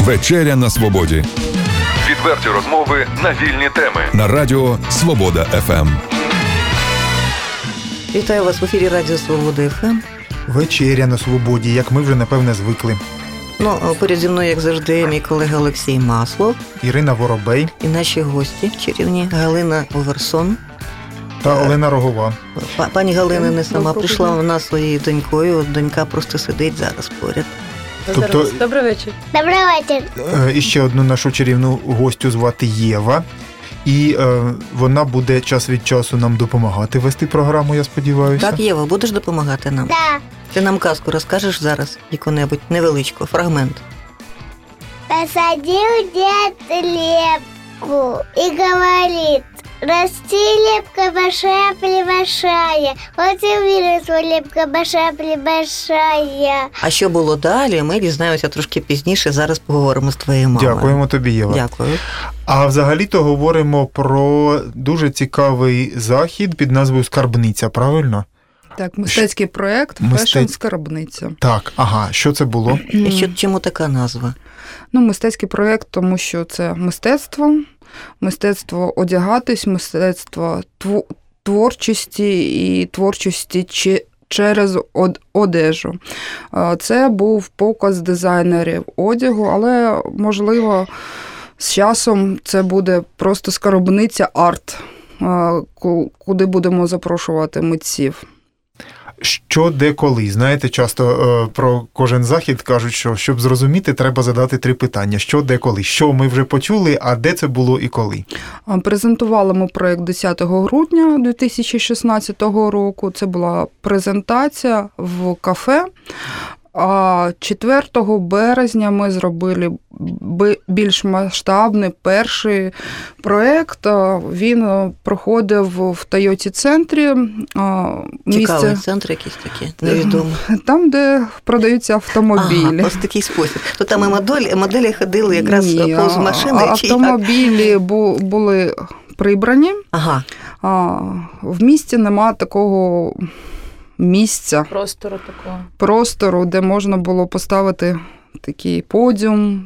Вечеря на свободі. Відверті розмови на вільні теми. На радіо Свобода ФМ. Вітаю вас в ефірі Радіо Свобода ФМ. Вечеря на свободі, як ми вже, напевне, звикли. Поряд зі мною, як завжди, мій колега Олексій Маслов. Ірина Воробей. І наші гості чарівні Галина Оверсон. Та Олена Рогова. Пані Галина не сама прийшла, вона своєю донькою. От донька просто сидить зараз поряд. Тобто, Добрий вечір. Добрий вечір. І ще одну нашу чарівну гостю звати Єва. І вона буде час від часу нам допомагати вести програму, я сподіваюся. Так, Єва, будеш допомагати нам? Да. Ти нам казку розкажеш зараз, яку-небудь невеличку, фрагмент. Посадил дед лепку и говорит: расти, лепка большая-пребольшая. Вот и выросла лепка большая-пребольшая. А що було далі, ми дізнаємося трошки пізніше, зараз поговоримо з твоєю мамою. Дякуємо тобі, Єва. Дякую. А взагалі-то говоримо про дуже цікавий захід під назвою «Скарбниця», правильно? Так, мистецький проєкт «Фешн Скарбниця». Так, ага. Що це було? І чому така назва? Мистецький проєкт, тому що це мистецтво одягатись, мистецтво творчості і творчості через одежу. Це був показ дизайнерів одягу, але, можливо, з часом це буде просто скарбниця арт, куди будемо запрошувати митців. Що, де, коли? Знаєте, часто про кожен захід кажуть, що щоб зрозуміти, треба задати 3 питання. Що, де, коли? Що ми вже почули, а де це було і коли? Презентували ми проєкт 10 грудня 2016 року. Це була презентація в кафе. А 4 березня ми зробили більш масштабний перший проєкт. Він проходив в Тойоті-центрі. Цікавий центр якийсь такий, невідомий. Там, де продаються автомобілі. Ага, ось такий спосіб. То там і моделі ходили якраз повз машини? Автомобілі були прибрані. Ага. В місті нема такого місця, простору, де можна було поставити такий подіум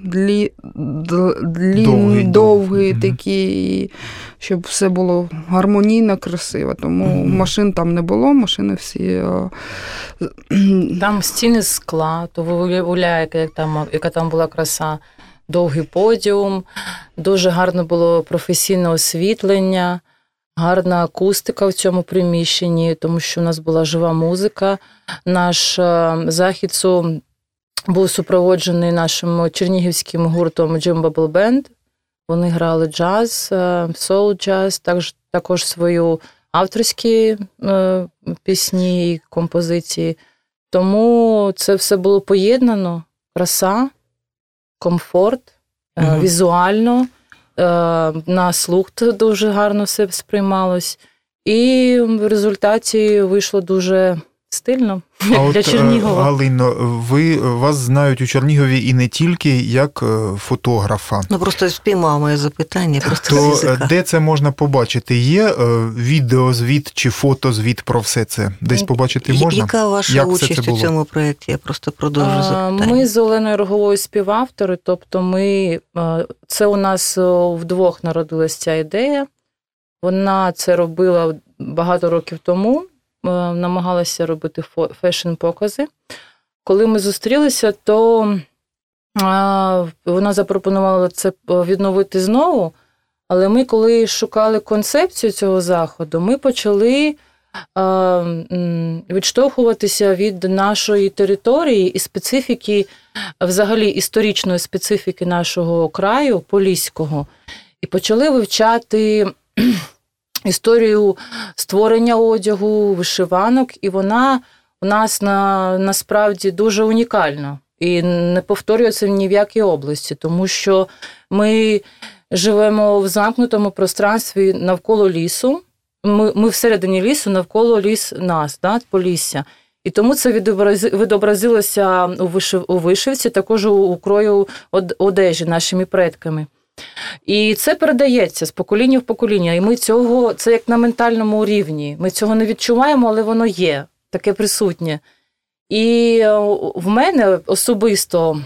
довгий такий, щоб все було гармонійно, красиво. Тому машин там не було, машини всі... Там стіни з скла, то виявляє, яка там була краса. Довгий подіум, дуже гарне було професійне освітлення, гарна акустика в цьому приміщенні, тому що в нас була жива музика. Наш захід був супроводжений нашим чернігівським гуртом Jim Bubble Band. Вони грали джаз, соул-джаз, також свої авторські пісні і композиції. Тому це все було поєднано. Краса, комфорт, візуально. На слух дуже гарно все сприймалось. І в результаті вийшло дуже стильно для Чернігова. Галино, вас знають у Чернігові і не тільки як фотографа. Просто спіймав моє запитання. То де це можна побачити? Є відеозвіт чи фотозвіт про все це? Десь побачити можна? Яка ваша участь у цьому проєкті? Я просто продовжу запитання. Ми з Оленою Роговою співавтори, тобто це у нас вдвох народилася ця ідея. Вона це робила багато років тому. Намагалася робити фешн-покази. Коли ми зустрілися, то вона запропонувала це відновити знову, але ми, коли шукали концепцію цього заходу, ми почали відштовхуватися від нашої території і специфіки, взагалі історичної специфіки нашого краю, Поліського, і почали вивчати історію створення одягу, вишиванок, і вона у нас насправді дуже унікальна і не повторюється ні в якій області, тому що ми живемо в замкнутому пространстві навколо лісу, ми всередині лісу, навколо ліс нас, Полісся. І тому це відобразилося у вишивці, також у крою одежі нашими предками. І це передається з покоління в покоління. І ми це як на ментальному рівні. Ми цього не відчуваємо, але воно є, таке присутнє. І в мене особисто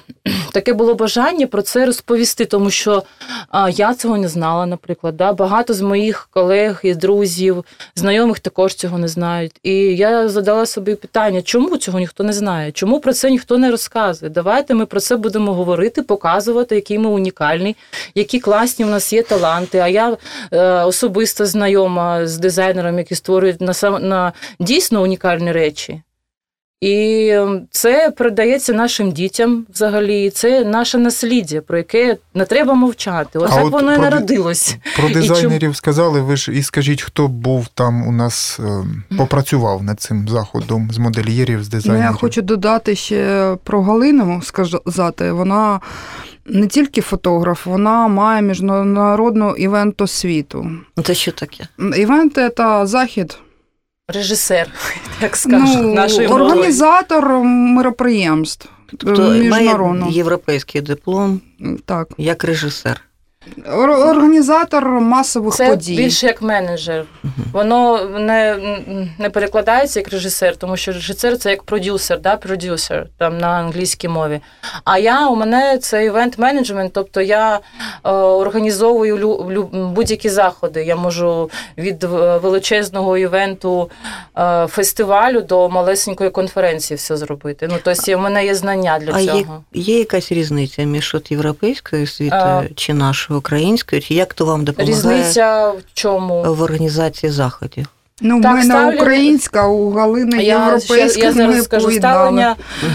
таке було бажання про це розповісти, тому що я цього не знала, наприклад. Да? Багато з моїх колег і друзів, знайомих також цього не знають. І я задала собі питання, чому цього ніхто не знає? Чому про це ніхто не розказує? Давайте ми про це будемо говорити, показувати, який ми унікальні, які класні в нас є таланти. А я особисто знайома з дизайнерами, які створюють на дійсно унікальні речі. І це передається нашим дітям взагалі. Це наше насліддя, про яке не треба мовчати. Отак воно і народилось. Про дизайнерів сказали, ви ж і скажіть, хто був там у нас, попрацював над цим заходом з модельєрів, з дизайнерів? Я хочу додати ще про Галину сказати. Вона не тільки фотограф, вона має міжнародну івент-освіту. Це що таке? Івент – це захід. Режисер, як скажуть, нашої мови. Організатор мероприємств. Тобто має європейський диплом, так. Як режисер. Організатор масових подій. Це більше як менеджер. Воно не перекладається як режисер, тому що режисер – це як продюсер, да? Продюсер, там на англійській мові. А у мене це івент-менеджмент, тобто я організовую будь-які заходи. Я можу від величезного івенту, фестивалю до малесенької конференції все зробити. Тобто в мене є знання для цього. Є якась різниця між європейською освітою чи нашою українською? Чи як то вам допомагає? Різниця в чому? В організації заходів. В мене українська, у Галини європейська. Я зараз скажу ставлення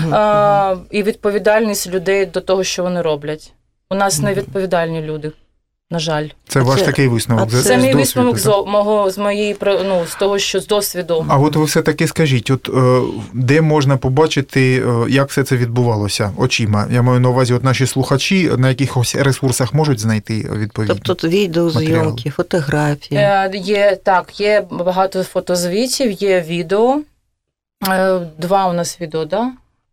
і відповідальність людей до того, що вони роблять. У нас невідповідальні люди, на жаль. Це ваш такий висновок? Це мій висновок з того, що з досвіду. А от ви все-таки скажіть, де можна побачити, як все це відбувалося очима? Я маю на увазі, наші слухачі на якихось ресурсах можуть знайти відповідні Тобто відеозйомки, фотографії? Є багато фотозвітів, є відео. 2 у нас відео, так?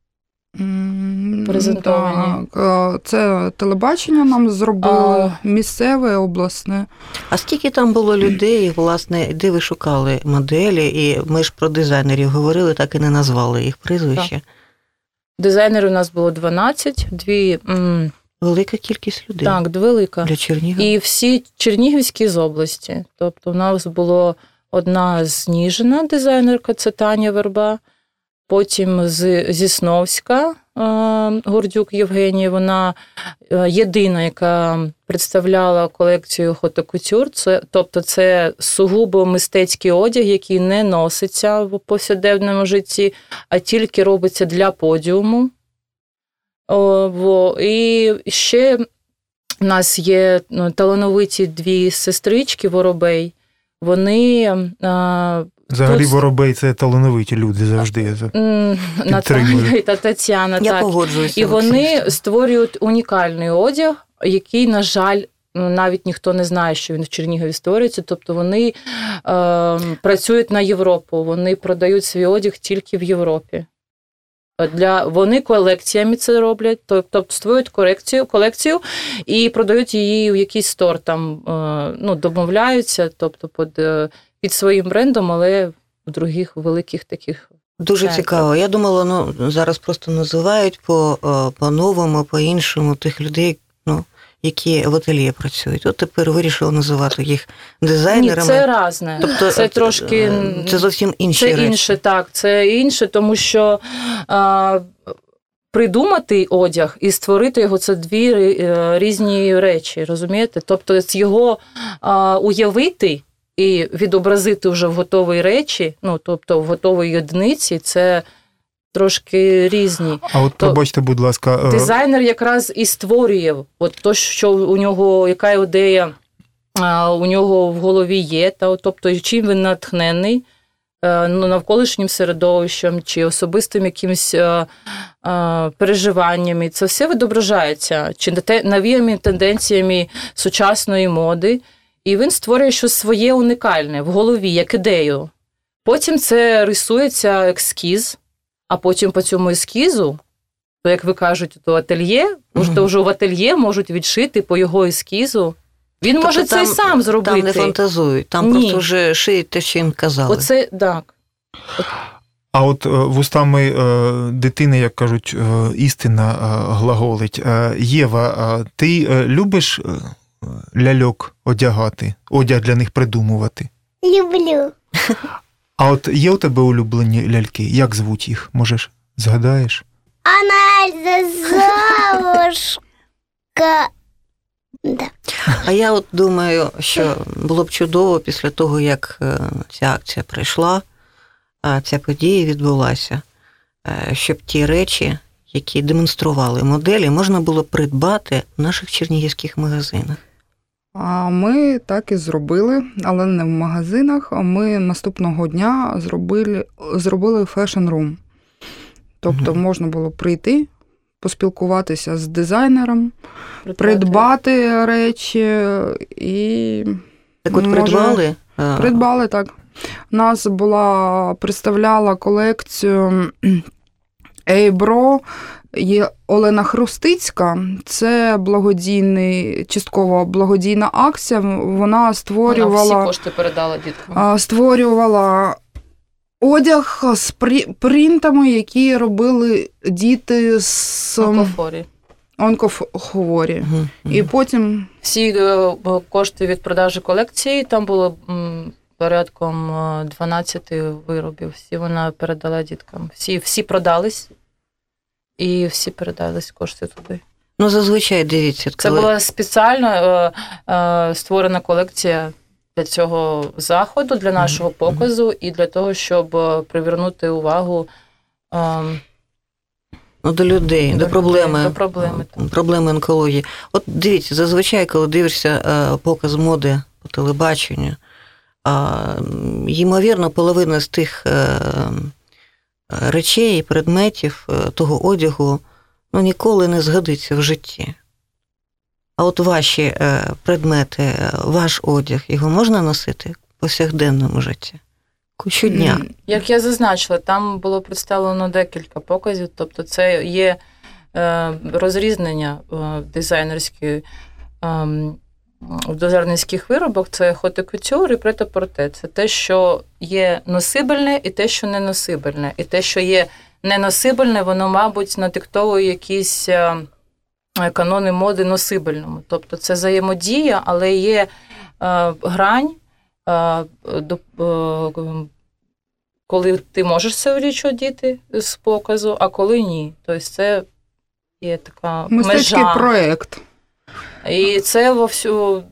Презентовані. Так. Це телебачення нам зробило, місцеве, обласне. А скільки там було людей, власне, де ви шукали моделі? І ми ж про дизайнерів говорили, так і не назвали їх прізвище. Так. Дизайнерів у нас було 12, Велика кількість людей. Так, велика. Для Чернігова. І всі чернігівські з області. Тобто у нас було одна з Ніжина дизайнерка, це Таня Верба. Потім зі Сновська Гордюк Євгенія, вона єдина, яка представляла колекцію Haute Couture, тобто це сугубо мистецький одяг, який не носиться в повсякденному житті, а тільки робиться для подіуму. І ще в нас є талановиті 2 сестрички Воробей, вони... Взагалі Воробей – це талановиті люди завжди. Наталія та Тетяна. Я погоджуюся. І вони створюють унікальний одяг, який, на жаль, навіть ніхто не знає, що він в Чернігові створюється. Тобто вони працюють на Європу, вони продають свій одяг тільки в Європі. Вони колекціями це роблять, тобто створюють колекцію і продають її у якийсь стор, там, домовляються, тобто під своїм брендом, але в других великих таких. Дуже цікаво. Я думала, зараз просто називають по-новому, по-іншому тих людей, які в ательє працюють. От тепер вирішили називати їх дизайнерами. Ні, це різне. Тобто, це трошки... Це зовсім інші речі. Це інше, так. Це інше, тому що придумати одяг і створити його – це 2 різні речі, розумієте? Тобто його уявити і відобразити вже в готовій речі, тобто в готовій одиниці, це трошки різні. А от пробачте, будь ласка... Дизайнер якраз і створює то, що у нього, яка ідея у нього в голові є, тобто чим він натхнений, навколишнім середовищем чи особистим якимось переживаннями. Це все відображається, чи новими тенденціями сучасної моди. І він створює щось своє унікальне в голові, як ідею. Потім це рисується ескіз, а потім по цьому ескізу, то, як ви кажете, то ательє, то вже в ательє можуть відшити по його ескізу. Він може це й сам зробити. Там не фантазують, там просто вже шиють те, що їм казали. Оце, так. А от вустами дитини, як кажуть, істина глаголить. Єва, ти любиш ляльок одягати, одяг для них придумувати? Люблю. А от є у тебе улюблені ляльки? Як звуть їх? Можеш, згадаєш? Она Золушка. Да. А я от думаю, що було б чудово після того, як ця акція пройшла, а ця подія відбулася, щоб ті речі, які демонстрували моделі, можна було придбати в наших чернігівських магазинах. А ми так і зробили, але не в магазинах. Ми наступного дня зробили фешн-рум. Тобто можна було прийти, поспілкуватися з дизайнером, придбати речі і... Так от придбали? Придбали, так. У нас представляла колекцію Ейбро є Олена Хрустицька. Це частково благодійна акція. Вона створювала... Вона всі кошти передала діткам. Створювала одяг з принтами, які робили діти з онкохворі. І потім... Всі кошти від продажу колекції, там було порядком 12 виробів. Всі вона передала діткам. Всі продались, і всі передались кошти туди. Ну, зазвичай, дивіться. Це була спеціально створена колекція для цього заходу, для нашого показу і для того, щоб привернути увагу до людей, до проблеми онкології. От дивіться, зазвичай, коли дивишся показ моди по телебаченню, ймовірно, половина з тих речей, предметів, того одягу, ніколи не згодиться в житті. А от ваші предмети, ваш одяг, його можна носити в повсякденному житті? Щодня. Як я зазначила, там було представлено декілька показів, тобто це є розрізнення дизайнерської в дизайнерських виробах, це хот-кутюр і прет-а-порте. Це те, що є носибельне і те, що не носибельне. І те, що є неносибельне, воно, мабуть, надиктовує якісь канони моди носибельному. Тобто це взаємодія, але є грань, коли ти можеш цю річ одіти з показу, а коли ні. Тобто це є така мистецький межа. проєкт. І це вовсю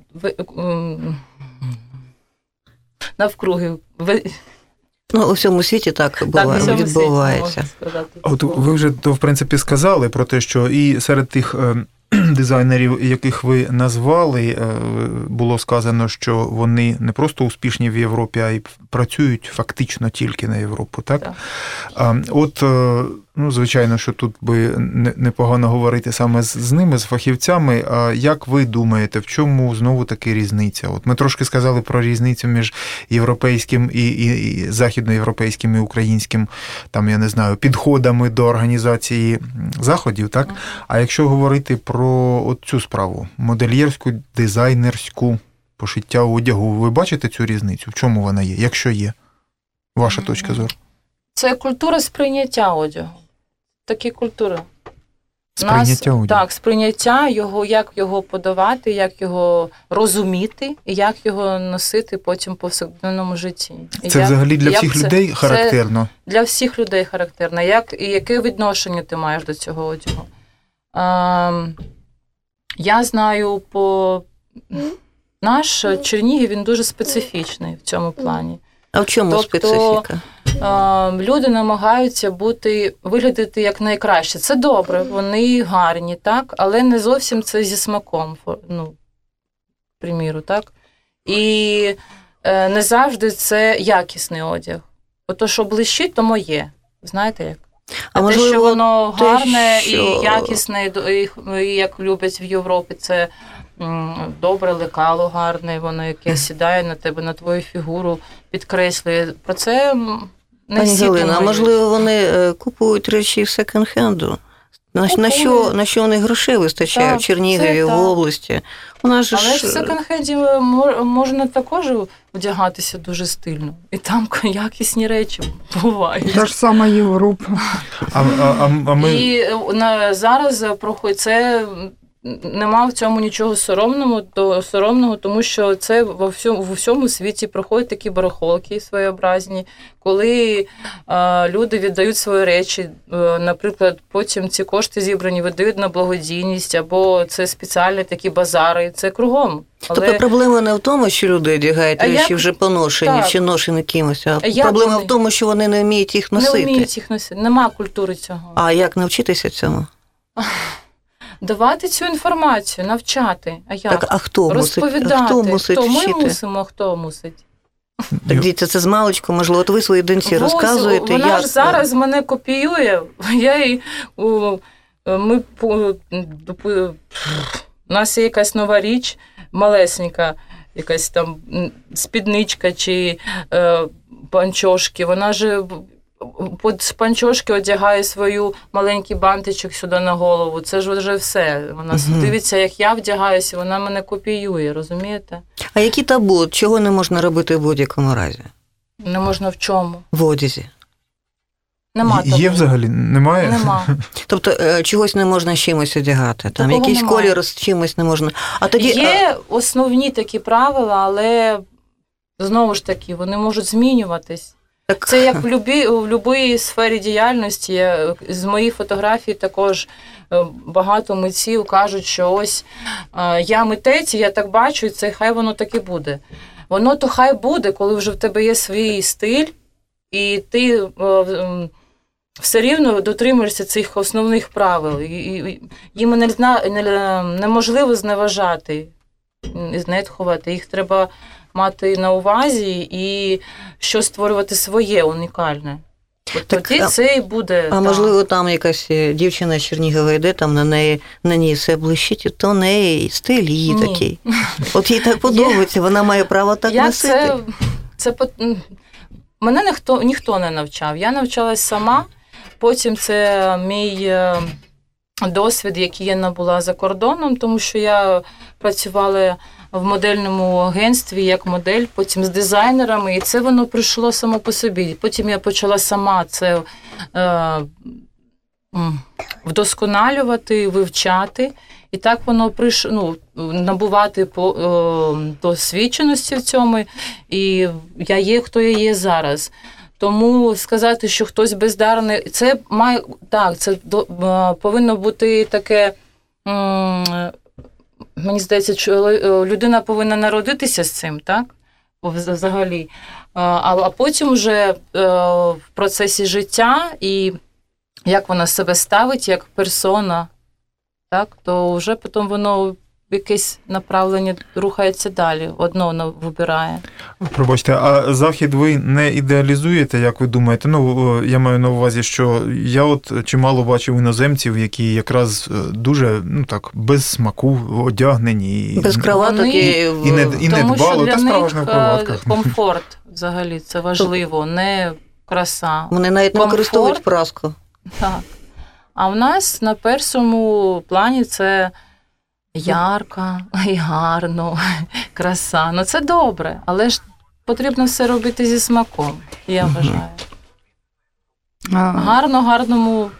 навкруги. У всьому світі так відбувається. От ви вже, в принципі, сказали про те, що і серед тих дизайнерів, яких ви назвали, було сказано, що вони не просто успішні в Європі, а й працюють фактично тільки на Європу, так? От, звичайно, що тут би непогано говорити саме з ними, з фахівцями. А як ви думаєте, в чому знову таки різниця? От ми трошки сказали про різницю між європейським і західноєвропейським і українським, там, я не знаю, підходами до організації заходів, так? А якщо говорити про цю справу, модельєрську, дизайнерську, пошиття одягу, ви бачите цю різницю? В чому вона є? Якщо є? Ваша точка зору? Це культура сприйняття одягу. Такі культури. Сприйняття одягу? Так, сприйняття його, як його подавати, як його розуміти, і як його носити потім в повсякденному житті. Це взагалі для всіх людей характерно? Це для всіх людей характерно. І яке відношення ти маєш до цього одягу? Я знаю, наш Чернігів, він дуже специфічний в цьому плані. А в чому специфіка? Люди намагаються виглядати як найкраще. Це добре, вони гарні, так, але не зовсім це зі смаком, приміру, так. І не завжди це якісний одяг. Ото, що блищить, то моє. Знаєте як? А те, що воно гарне і якісне, і як люблять в Європі, це добре лекало гарне, воно яке сідає на тебе, на твою фігуру, підкреслює. Про це не всі думають. А можливо, вони купують речі секонд-хенду, На що у них грошей вистачає в Чернігові, в області? У нас же Але ж в секонд-хенді можна також вдягатися дуже стильно. І там якісні речі бувають. Та ж сама Європа. І зараз проходить це. Нема в цьому нічого соромного, тому що це в всьому світі проходять такі барахолки своєобразні, коли люди віддають свої речі, наприклад, потім ці кошти зібрані видають на благодійність, або це спеціальні такі базари, це кругом. Тобто проблема не в тому, що люди одягають речі вже поношені, чи ношені кимось, а проблема в тому, що вони не вміють їх носити. Не вміють їх носити, нема культури цього. А як навчитися цьому? Давати цю інформацію, навчати. А як? Так, а хто розповідати? Хто мусить вчити? Ми мусимо, а хто мусить? Так, дивіться, це з маличку, можливо, от ви своїй доньці розказуєте. Вона ж зараз мене копіює. У нас є якась нова річ, малесенька, якась там спідничка чи панчошки. Вона ж з панчошки одягає свою маленький бантичок сюди на голову. Це ж вже все. Вона дивиться, як я вдягаюся, вона мене копіює, розумієте? А які табу? Чого не можна робити в будь-якому разі? Не можна в чому? В одязі. Нема табу. Є взагалі? Немає? Нема. Тобто чогось не можна з чимось одягати? Там якийсь колір з чимось не можна? А тоді... Є основні такі правила, але знову ж таки, вони можуть змінюватись. Це як в будь-якій сфері діяльності. З моїх фотографій також багато митців кажуть, що ось я митець, я так бачу, і це хай воно так і буде. Воно то хай буде, коли вже в тебе є свій стиль, і ти все рівно дотримуєшся цих основних правил. Їм неможливо зневажати, знехтувати. Їх треба мати на увазі і що створювати своє, унікальне. Тоді це і буде. А можливо, там якась дівчина з Чернігова йде, там на ній все блищить, то в неї стиль її такий. От їй так подобається, вона має право так носити. Мене ніхто не навчав. Я навчалась сама, потім це мій досвід, який я набула за кордоном, тому що я працювала в модельному агентстві як модель, потім з дизайнерами, і це воно прийшло само по собі. Потім я почала сама це вдосконалювати, вивчати, і так воно прийшло, набувати досвідченості в цьому, і я є, хто я є зараз. Тому сказати, що хтось бездарний, це повинно бути таке, мені здається, що людина повинна народитися з цим, так? Взагалі. А потім вже в процесі життя і як вона себе ставить, як персона, так? То вже потім воно в якесь направлення рухається далі, одно воно вибирає. Пробачте, а Захід ви не ідеалізуєте, як ви думаєте? Я маю на увазі, що я от чимало бачив іноземців, які якраз дуже, без смаку одягнені. Без краваток і не дбало, та справа ж не в краватках. Комфорт взагалі, це важливо, не краса. Вони навіть не використовують праску. Так. А в нас на першому плані це ярко і гарно, краса. Це добре, але ж потрібно все робити зі смаком, я вважаю. Гарному.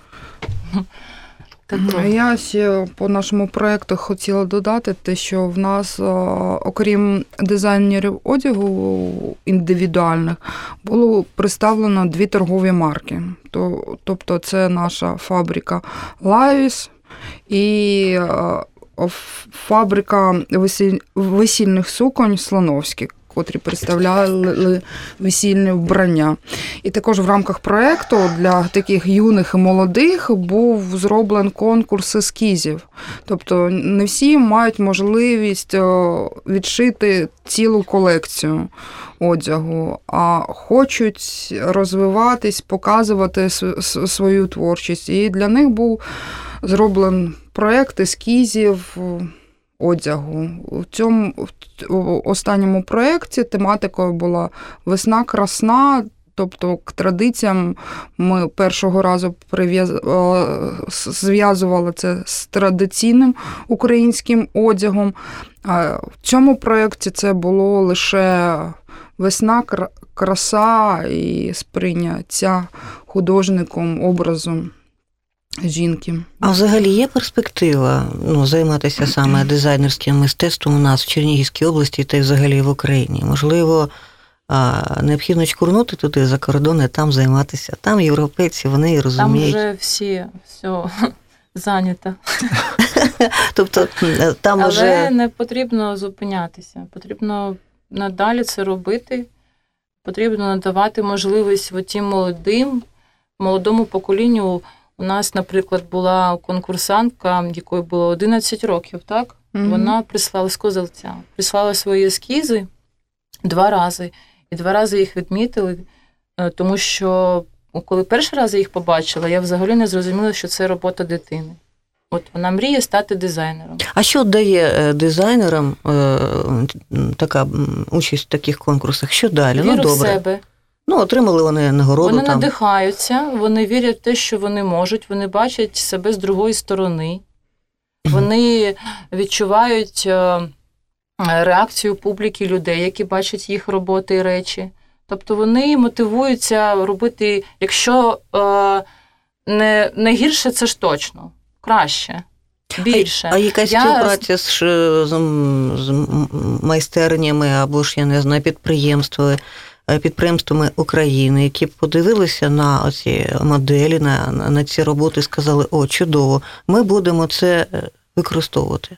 Я ще по нашому проєкту хотіла додати те, що в нас, окрім дизайнерів одягу індивідуальних, було представлено 2 торгові марки. Тобто це наша фабрика Лавіс і фабрика весільних суконь Слоновський, котрі представляли весільне вбрання. І також в рамках проєкту для таких юних і молодих був зроблений конкурс ескізів. Тобто не всі мають можливість відшити цілу колекцію одягу, а хочуть розвиватись, показувати свою творчість. І для них був зроблений проєкт ескізів одягу. В цьому останньому проєкті тематикою була «Весна красна», Тобто к традиціям ми першого разу зв'язували це з традиційним українським одягом. А в цьому проєкті це було лише весна, краса і сприйняття художником образу жінки. А взагалі є перспектива займатися саме дизайнерським мистецтвом у нас в Чернігівській області та й взагалі в Україні? Можливо, необхідно чкурнути туди за кордон і там займатися. Там європейці, вони і розуміють. Там вже все зайнято. Тобто, там Але не потрібно зупинятися. Потрібно надалі це робити. Потрібно надавати можливість тим молодому поколінню. У нас, наприклад, була конкурсантка, якої було 11 років, так? Mm-hmm. Вона прислала з Козельця. Прислала свої ескізи 2 рази. І 2 рази їх відмітили, тому що коли перший раз я їх побачила, я взагалі не зрозуміла, що це робота дитини. От вона мріє стати дизайнером. А що дає дизайнерам така участь в таких конкурсах? Що далі? Віру добре. в себе. Отримали вони нагороду. Вони надихаються, вони вірять в те, що вони можуть, вони бачать себе з другої сторони. Вони відчувають реакцію публіки, людей, які бачать їх роботи і речі. Тобто вони мотивуються робити, якщо не гірше, це ж точно, краще, більше. А якась співпраця з майстернями або ж, я не знаю, підприємствами України, які б подивилися на оці моделі, на ці роботи і сказали, чудово, ми будемо це використовувати.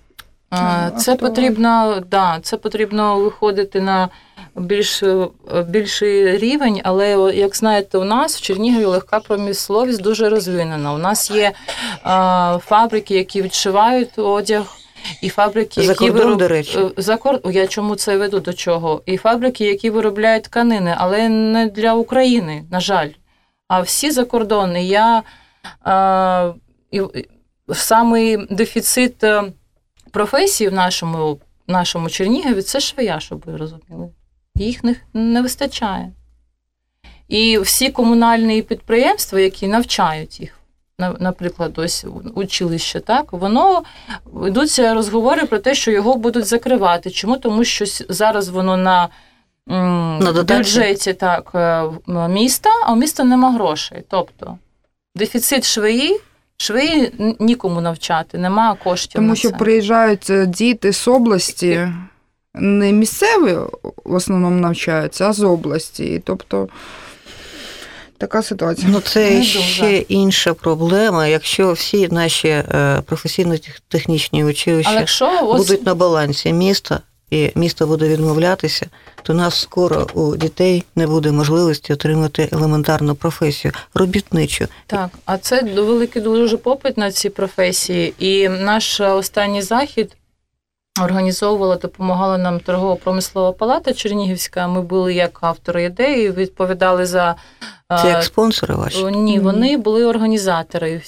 Це потрібно виходити на більший рівень, але, як знаєте, у нас в Чернігові легка промисловість дуже розвинена. У нас є фабрики, які відшивають одяг, і фабрики, які до речі. Я чому це веду, до чого? І фабрики, які виробляють тканини, але не для України, на жаль. А всі закордонні. Самий дефіцит професій в нашому Чернігові – це швея, щоб ви розуміли. Їх не вистачає. І всі комунальні підприємства, які навчають їх, наприклад, ось училище, так, йдуться розговори про те, що його будуть закривати. Чому? Тому що зараз воно на бюджеті міста, а у міста нема грошей. Тобто дефіцит швеї нікому навчати, нема коштів. Тому на що це. приїжджають діти з області, не місцеві в основному навчаються, а з області. Тобто така ситуація. Це ще інша проблема. Якщо всі наші професійно-технічні училища будуть на балансі міста, і місто буде відмовлятися, то у нас скоро у дітей не буде можливості отримати елементарну професію, робітничу. Так, а це великий дуже попит на ці професії. І наш останній захід допомагала нам торгово-промислова палата Чернігівська. Ми були як автори ідеї, відповідали за... Це як спонсори ваші? Ні, вони були організатори.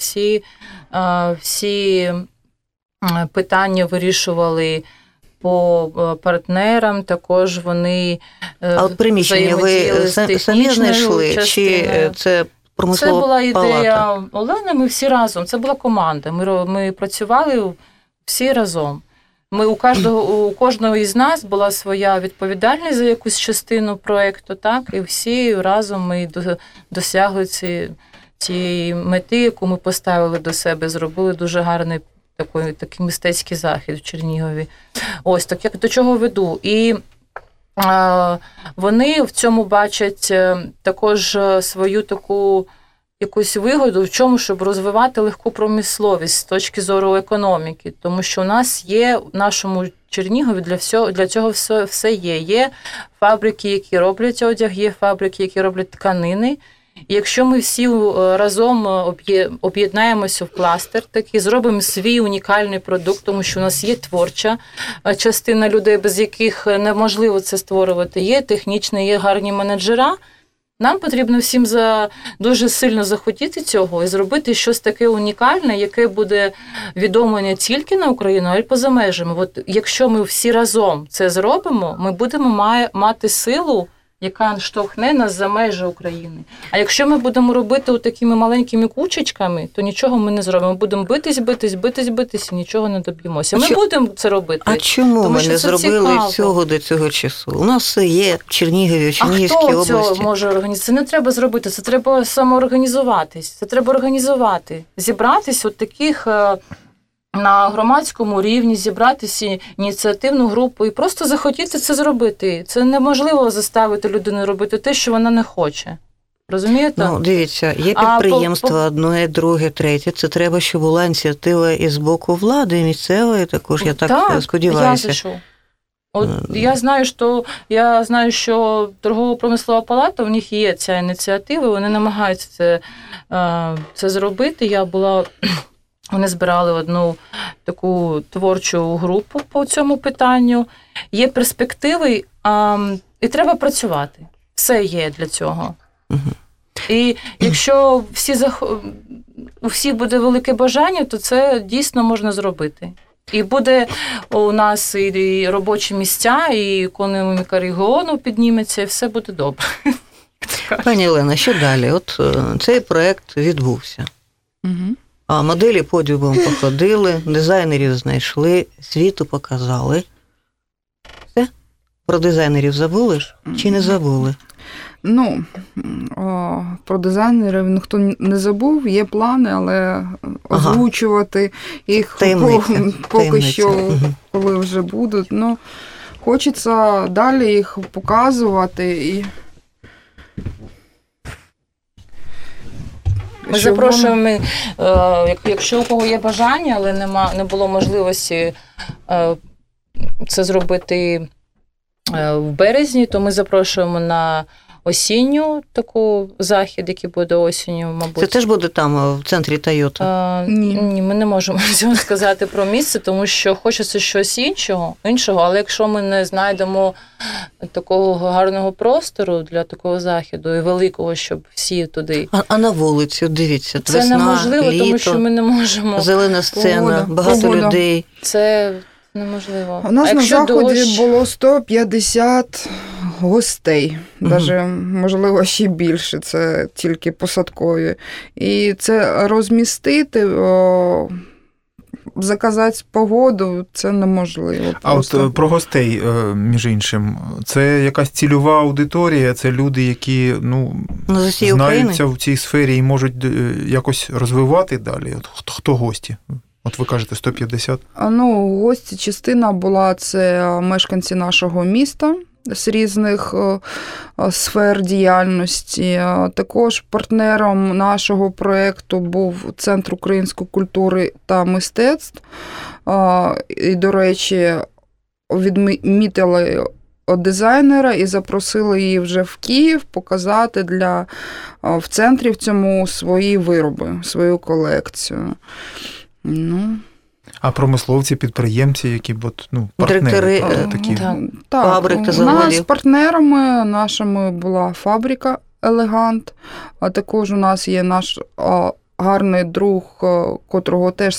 Всі питання вирішували по партнерам, також вони А от приміщення ви самі знайшли? Чи це промислова палата? Це була ідея Олени, ми всі разом. Це була команда. Ми працювали всі разом. У кожного із нас була своя відповідальність за якусь частину проєкту, так, і всі разом ми досягли цієї мети, яку ми поставили до себе, зробили дуже гарний такий мистецький захід в Чернігові. Ось, так як до чого веду. І вони в цьому бачать також свою таку якусь вигоду в чому, щоб розвивати легку промисловість з точки зору економіки. Тому що у нас є в нашому Чернігові для цього все є. Є фабрики, які роблять одяг, є фабрики, які роблять тканини. І якщо ми всі разом об'єднаємося в кластер, такий, зробимо свій унікальний продукт, тому що у нас є творча частина людей, без яких неможливо це створювати, є технічна, є гарні менеджера, нам потрібно всім дуже сильно захотіти цього і зробити щось таке унікальне, яке буде відомо не тільки на Україну, а й поза межами. От якщо ми всі разом це зробимо, ми будемо мати силу яка штовхне нас за межі України. А якщо ми будемо робити такими маленькими кучечками, то нічого ми не зробимо. Ми будемо битись і нічого не доб'ємося. Ми будемо це робити. А чому ми не зробили цікаво. цього до цього часу? У нас все є в Чернігові, в Чернігівській області. А хто цього може організувати? Це не треба зробити, це треба самоорганізуватись. Це треба організувати. Зібратись от таких на громадському рівні, зібратися ініціативну групу і просто захотіти це зробити. Це неможливо заставити людину робити те, що вона не хоче. Розумієте? Ну, дивіться, є підприємства одне, друге, третє. Це треба, щоб була ініціатива і з боку влади, і місцевої також, я так сподіваюся. Я знаю, що торгово-промислова палата, в них є ця ініціатива, вони намагаються це зробити. Вони збирали одну таку творчу групу по цьому питанню. Є перспективи, і треба працювати. Все є для цього. І якщо у всіх буде велике бажання, то це дійсно можна зробити. І буде у нас і робочі місця, і економіка регіону підніметься, і все буде добре. Пані Олена, що далі? От цей проєкт відбувся. А моделі подіумом походили, дизайнерів знайшли, світу показали. Все? Про дизайнерів забули чи не забули? Ну, про дизайнерів ніхто не забув, є плани, але озвучувати їх поки що, коли вже будуть. Ну, хочеться далі їх показувати і... Ми запрошуємо, якщо у кого є бажання, але не було можливості це зробити в березні, то ми запрошуємо на осінню таку захід, який буде осінню, мабуть. Це теж буде там, в центрі Тойота? Ні, ми не можемо цього сказати про місце, тому що хочеться щось іншого, але якщо ми не знайдемо такого гарного простору для такого заходу і великого, щоб всі туди... А на вулицю, дивіться, це весна, неможливо, літо, тому що ми не можемо... Зелена сцена, багато людей. Це неможливо. У нас на заході було 150 гостей, навіть, можливо, ще більше, це тільки посадкові. І це розмістити, заказати погоду, це неможливо. Просто. А от про гостей, між іншим, це якась цільова аудиторія, це люди, які знаються в цій сфері і можуть якось розвивати далі? От хто гості? От ви кажете 150? Гості, частина була, це мешканці нашого міста з різних сфер діяльності. Також партнером нашого проєкту був Центр української культури та мистецтв. І, до речі, відмітили дизайнера і запросили її вже в Київ показати в центрі в цьому свої вироби, свою колекцію. А промисловці, підприємці, які партнери такі? Фабрики, у нас партнерами нашими була фабрика «Елегант», а також у нас є наш гарний друг, котрого теж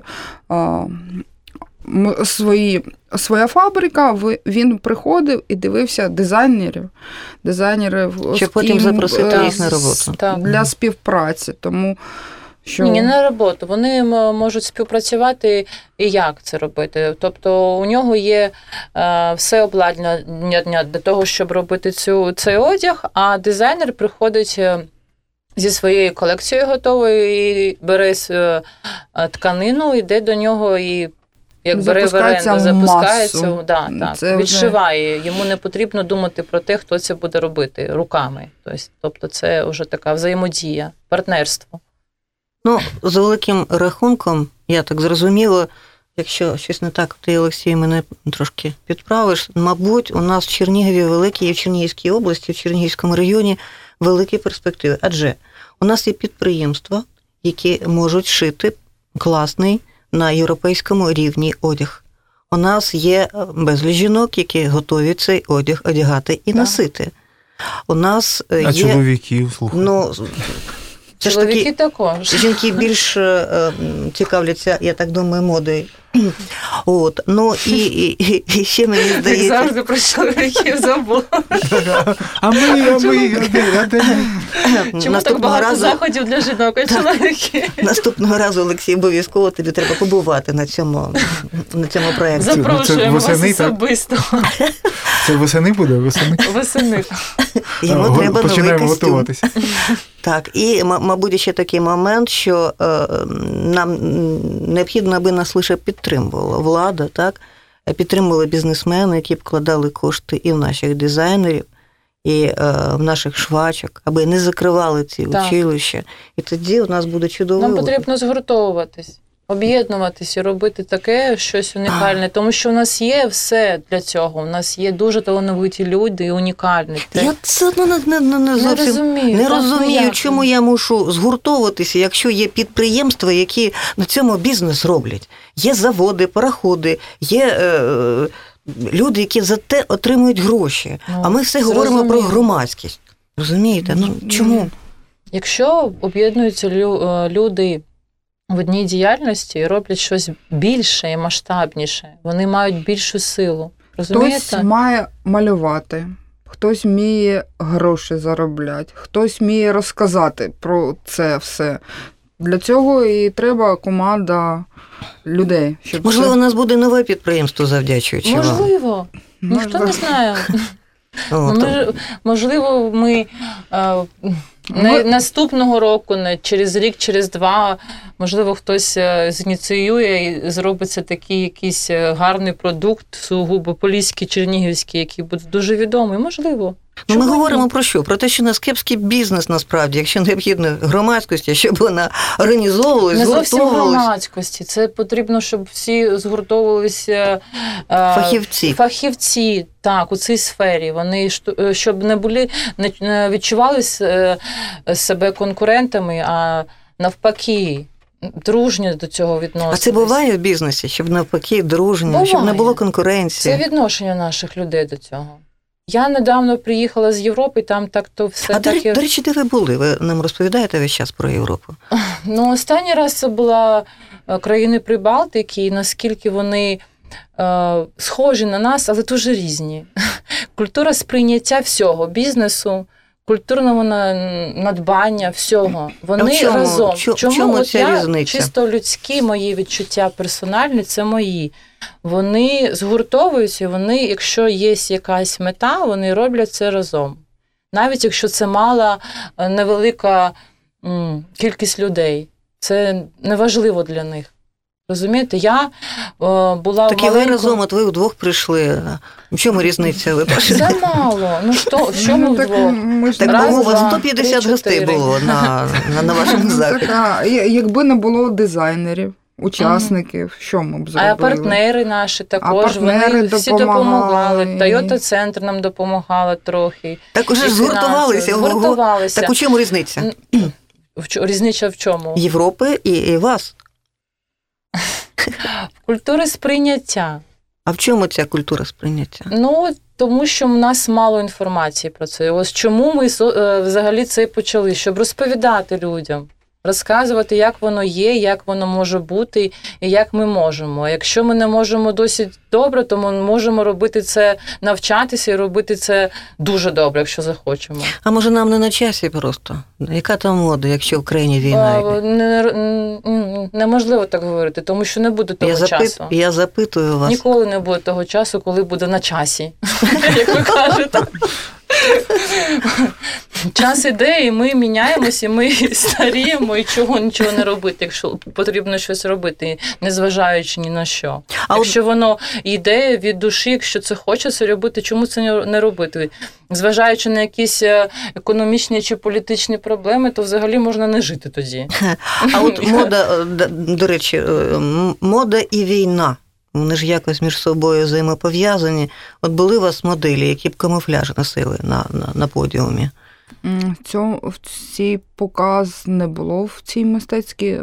своя фабрика, він приходив і дивився дизайнерів, щоб потім запросити їх на роботу. Для співпраці, тому... Ні, не на роботу. Вони можуть співпрацювати і як це робити. Тобто у нього є все обладнання для того, щоб робити цей одяг, а дизайнер приходить зі своєю колекцією готовою і бере тканину, йде до нього і як бере в оренду, запускається, відшиває. Йому не потрібно думати про те, хто це буде робити руками. Тобто це вже така взаємодія, партнерство. За великим рахунком, я так зрозуміла, якщо щось не так, ти, Олексій, мене трошки підправиш, мабуть, у нас в Чернігові великі, і в Чернігівській області, в Чернігівському районі великі перспективи. Адже у нас є підприємства, які можуть шити класний на європейському рівні одяг. У нас є безліч жінок, які готові цей одяг одягати і носити. У нас є... чоловіків, слухай. Чоловіки також. Жінки більш цікавляться, я так думаю, модою. От, ну і ще мені Як здається... завжди про чоловіків забула. А ми. Чому так багато заходів для жінок і чоловіків? Наступного разу, Олексій, обов'язково тобі треба побувати на цьому проєкті. Запрошуємо вас особисто. Це восени буде? Восени. Йому треба новий починаємо костюм. готуватися. Так, і, мабуть, ще такий момент, що нам необхідно, аби нас лише підтримувала влада, так? Підтримували бізнесмени, які вкладали кошти і в наших дизайнерів, і в наших швачок, аби не закривали ці училища. І тоді у нас буде чудово. Нам потрібно згуртовуватись, об'єднуватись і робити таке щось унікальне, тому що у нас є все для цього. У нас є дуже талановиті люди і унікальні. Я це не зовсім не розумію, чому я мушу згуртовуватися, якщо є підприємства, які на цьому бізнес роблять. Є заводи, пароходи, є люди, які за те отримують гроші. А ми все говоримо про громадськість. Розумієте? Ну чому? Якщо об'єднуються люди в одній діяльності і роблять щось більше і масштабніше, вони мають більшу силу. Розумієте? Хтось має малювати, хтось вміє гроші заробляти, хтось вміє розказати про це все. Для цього і треба команда людей. Щоб можливо, у нас буде нове підприємство завдячуючи вам. Можливо. Ніхто не знає. Можливо, ми наступного року, через рік, через два, можливо, хтось зініціює і зробиться такий якийсь гарний продукт, сугубо поліський, чернігівський, який буде дуже відомий. Можливо. Ну, ми говоримо про що? Про те, що у нас кепський бізнес, насправді, якщо необхідно громадськості, щоб вона організовувалась, не зовсім громадськості. Це потрібно, щоб всі згуртовувалися фахівці, так, у цій сфері. Вони, щоб не відчували себе конкурентами, а навпаки, дружньо до цього відноситися. А це буває в бізнесі, щоб навпаки дружньо, буває. Щоб не було конкуренції? Це відношення наших людей до цього. Я недавно приїхала з Європи, там так-то все таке... До речі, де ви були? Ви нам розповідаєте весь час про Європу? Ну, останній раз це була країни Прибалтики, і наскільки вони схожі на нас, але дуже різні. Культура сприйняття всього, бізнесу, культурного надбання, всього. Вони разом. Чому ця різниця? Чисто людські мої відчуття персональні, це мої. Вони згуртовуються, вони, якщо є якась мета, вони роблять це разом. Навіть якщо це мала, невелика кількість людей. Це неважливо для них. Розумієте, я була так і ви разом, от ви вдвох прийшли. В чому різниця? Ви це мало. Ну що, в чому вдвох? Так у вас 150 гостей було на вашому заході. Якби не було дизайнерів, учасників, що ми б зробили? А партнери наші також, вони всі допомагали. Toyota-центр нам допомагала трохи. Так уже згуртувалися. Так у чому різниця? Різниця в чому? Європи і вас. Культури сприйняття. А в чому ця культура сприйняття? Ну, тому що в нас мало інформації про це. Ось чому ми взагалі це почали, щоб розповідати людям, розказувати, як воно є, як воно може бути і як ми можемо. А якщо ми не можемо досить добре, то ми можемо робити це, навчатися і робити це дуже добре, якщо захочемо. А може нам не на часі просто? Яка там мода, якщо в країні війна? Неможливо так говорити, тому що не буде того часу. Я запитую вас. Ніколи не буде того часу, коли буде на часі, як ви кажете. Час іде, і ми міняємося, і ми старіємо, і нічого не робити, якщо потрібно щось робити, незважаючи ні на що. Якщо воно йде від душі, якщо це хочеться робити, чому це не робити? Зважаючи на якісь економічні чи політичні проблеми, то взагалі можна не жити тоді. А от мода, до речі, мода і війна. Вони ж якось між собою взаємопов'язані. От були у вас моделі, які б камуфляж носили на подіумі? В цій показ не було в цій мистецькій.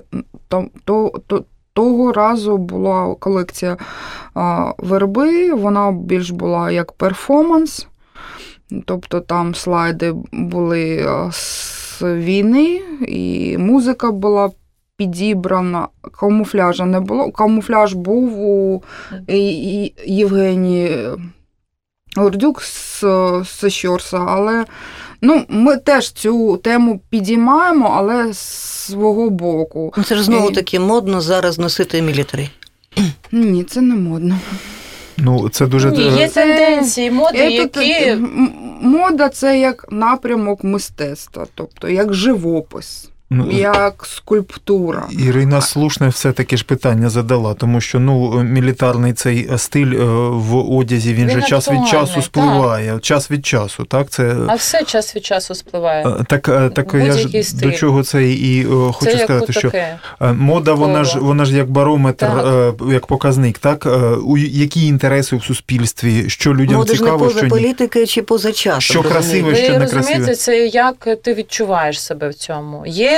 Того разу була колекція верби, вона більш була як перформанс. Тобто там слайди були з війни, і музика була підібрана, камуфляжа не було. Камуфляж був у Євгенії Гордюк з Щорса, але ми теж цю тему підіймаємо, але з свого боку. Це ж знову таки модно зараз носити мілітарі. Ні, це не модно. Це дуже... Ні, є тенденції, моди, які... Мода – це як напрямок мистецтва, тобто як живопис. Як скульптура. Ірина слушне все-таки ж питання задала, тому що мілітарний цей стиль в одязі, він же час від часу спливає. Так. Час від часу, так? А все час від часу спливає. Так я ж стиль. до чого це і хочу сказати, що мода, вона ж як барометр, як показник, так? Які інтереси в суспільстві, що людям мода цікаво, що ні. Мода ж не поза політикою чи поза часом. Що красиве, що не красиве. Ви розумієте, це як ти відчуваєш себе в цьому. Є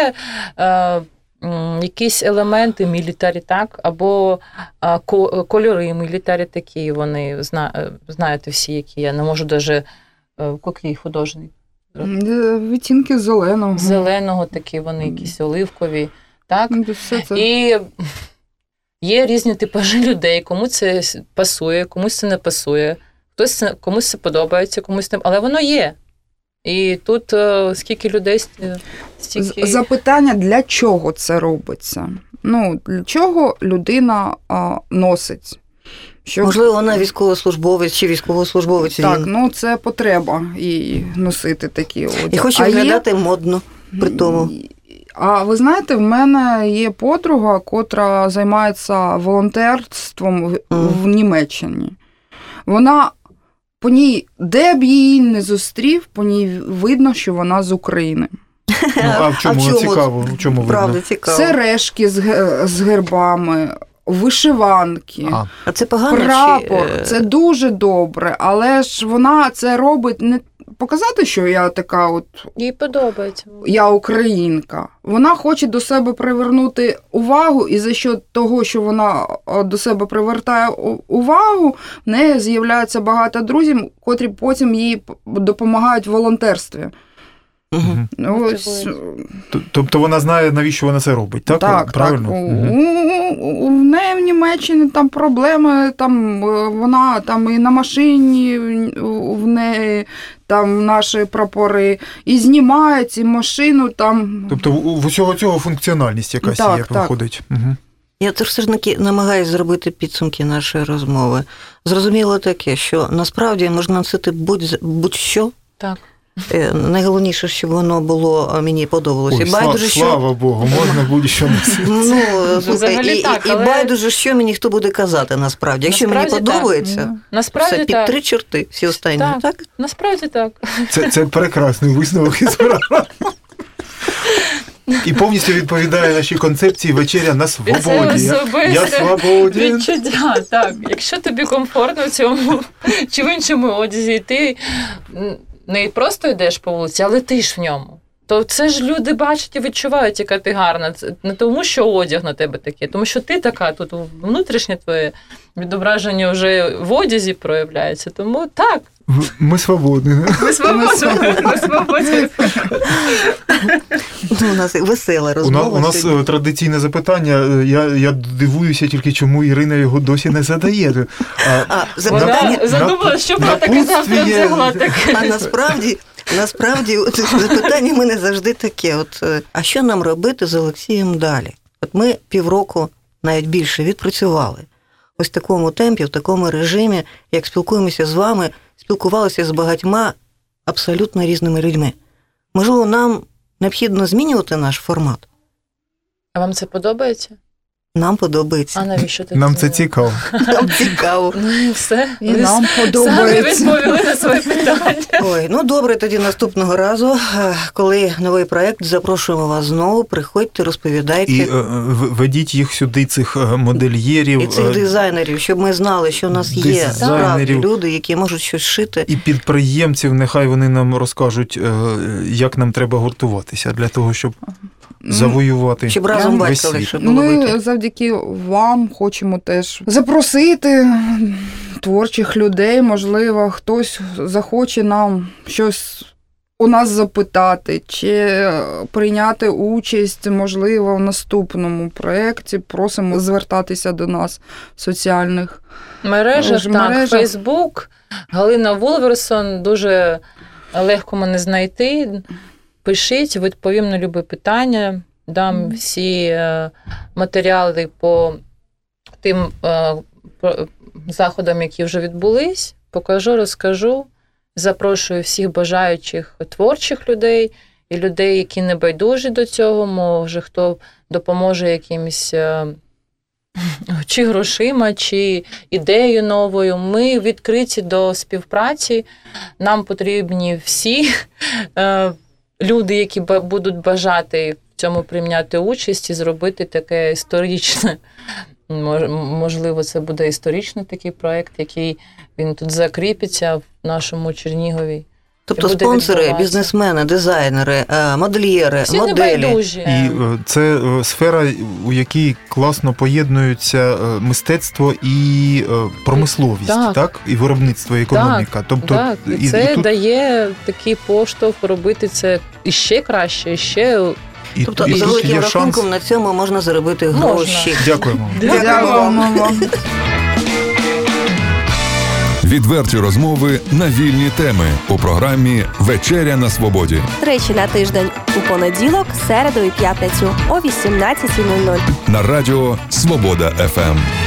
якісь елементи мілітарі, так, або кольори мілітарі такі, вони, знаєте всі, які я не можу навіть, який художник? Відтінки зеленого. Зеленого такі, вони якісь оливкові, так? І є різні типажі людей, кому це пасує, комусь це не пасує, комусь це подобається, комусь не... Але воно є. І тут скільки людей, стільки... Запитання, для чого це робиться? Для чого людина носить? Можливо, вона військовослужбовець чи військовослужбовець. Так, це потреба і носити такі одяг. І хоче виглядати модно при тому. А ви знаєте, в мене є подруга, котра займається волонтерством в Німеччині. Вона... По ній, де б її не зустрів, по ній видно, що вона з України. А в чому цікаво? В чому правда цікаво? Сережки з гербами, вишиванки, а це погано, прапор. Це дуже добре, але ж вона це робить не показати, що я така їй подобається. Я українка. Вона хоче до себе привернути увагу, і за що того, що вона до себе привертає увагу, в неї з'являється багато друзів, котрі потім їй допомагають в волонтерстві. Тобто вона знає, навіщо вона це робить, так? Так, правильно? Так. У неї в Німеччині там проблеми, там вона там і на машині в неї там наші прапори, і знімає ці машину там. Тобто в усього цього функціональність якась є, проходить. Угу. Я теж все ж таки намагаюся зробити підсумки нашої розмови. Зрозуміло таке, що насправді можна носити будь-що. Так. Найголовніше, щоб воно було, мені подобалося. Слава Богу, можна будь-що носити. І байдуже, що мені хто буде казати, насправді. Якщо мені подобається, все під 3 чорти, всі останні, так? Насправді так. Це прекрасний висновок із програми. І повністю відповідає нашій концепції «Вечеря на свободі». Я свободен. Відчуття, так. Якщо тобі комфортно в цьому чи в іншому одязі, і ти не просто йдеш по вулиці, а летиш в ньому, то це ж люди бачать і відчувають, яка ти гарна. Це не тому, що одяг на тебе такий, тому що ти така, тут внутрішнє твоє відображення вже в одязі проявляється. Тому так. Ми свободні. Ми свободні. У нас весела розмова. У нас традиційне запитання. Я дивуюся тільки, чому Ірина його досі не задає. Вона задумала, що про таке завтра взяла таке. А насправді запитання в мене завжди таке. А що нам робити з Олексієм далі? Ми півроку, навіть більше, відпрацювали. Ось в такому темпі, в такому режимі, як спілкуємося з вами, спілкувалися з багатьма абсолютно різними людьми. Можливо, нам необхідно змінювати наш формат? А вам це подобається? Нам подобається. А навіщо ти нам це цікаво. Нам цікаво. Ну і все. І нам подобається. Самі відповіли на своє питання. Ой, добре, тоді наступного разу, коли новий проєкт, запрошуємо вас знову, приходьте, розповідайте. І ведіть їх сюди, цих модельєрів. І цих дизайнерів, щоб ми знали, що у нас є справді люди, які можуть щось шити. І підприємців, нехай вони нам розкажуть, як нам треба гуртуватися для того, щоб завоювати. Щоб разом бачили, що було Ми завдяки вам хочемо теж запросити творчих людей, можливо, хтось захоче нам щось у нас запитати, чи прийняти участь, можливо, в наступному проєкті. Просимо звертатися до нас в соціальних мережах. Так, Фейсбук, Галина Вулверсон, дуже легко мене знайти. Пишіть, відповім на любі питання, дам всі матеріали по тим заходам, які вже відбулись, покажу, розкажу. Запрошую всіх бажаючих творчих людей і людей, які не байдужі до цього, може хто допоможе якимось чи грошима, чи ідеєю новою. Ми відкриті до співпраці, нам потрібні всі люди, які будуть бажати в цьому прийняти участь і зробити таке історичне. Можливо, це буде історичний такий проєкт, який він тут закріпиться в нашому Чернігові. Тобто спонсори, бізнесмени, дизайнери, модельєри, всі моделі. Небайдужі. І це сфера, у якій класно поєднується мистецтво і промисловість, так? І виробництво, і економіка. Так, тобто, так. І це тут дає такий поштовх робити це іще краще, іще... Тобто, за великим рахунком, на цьому можна заробити гроші. Дякуємо. Дякуємо вам. Відверті розмови на вільні теми у програмі «Вечеря на свободі». Тричі на тиждень у понеділок, середу і п'ятницю о 18:00. На радіо «Свобода ФМ».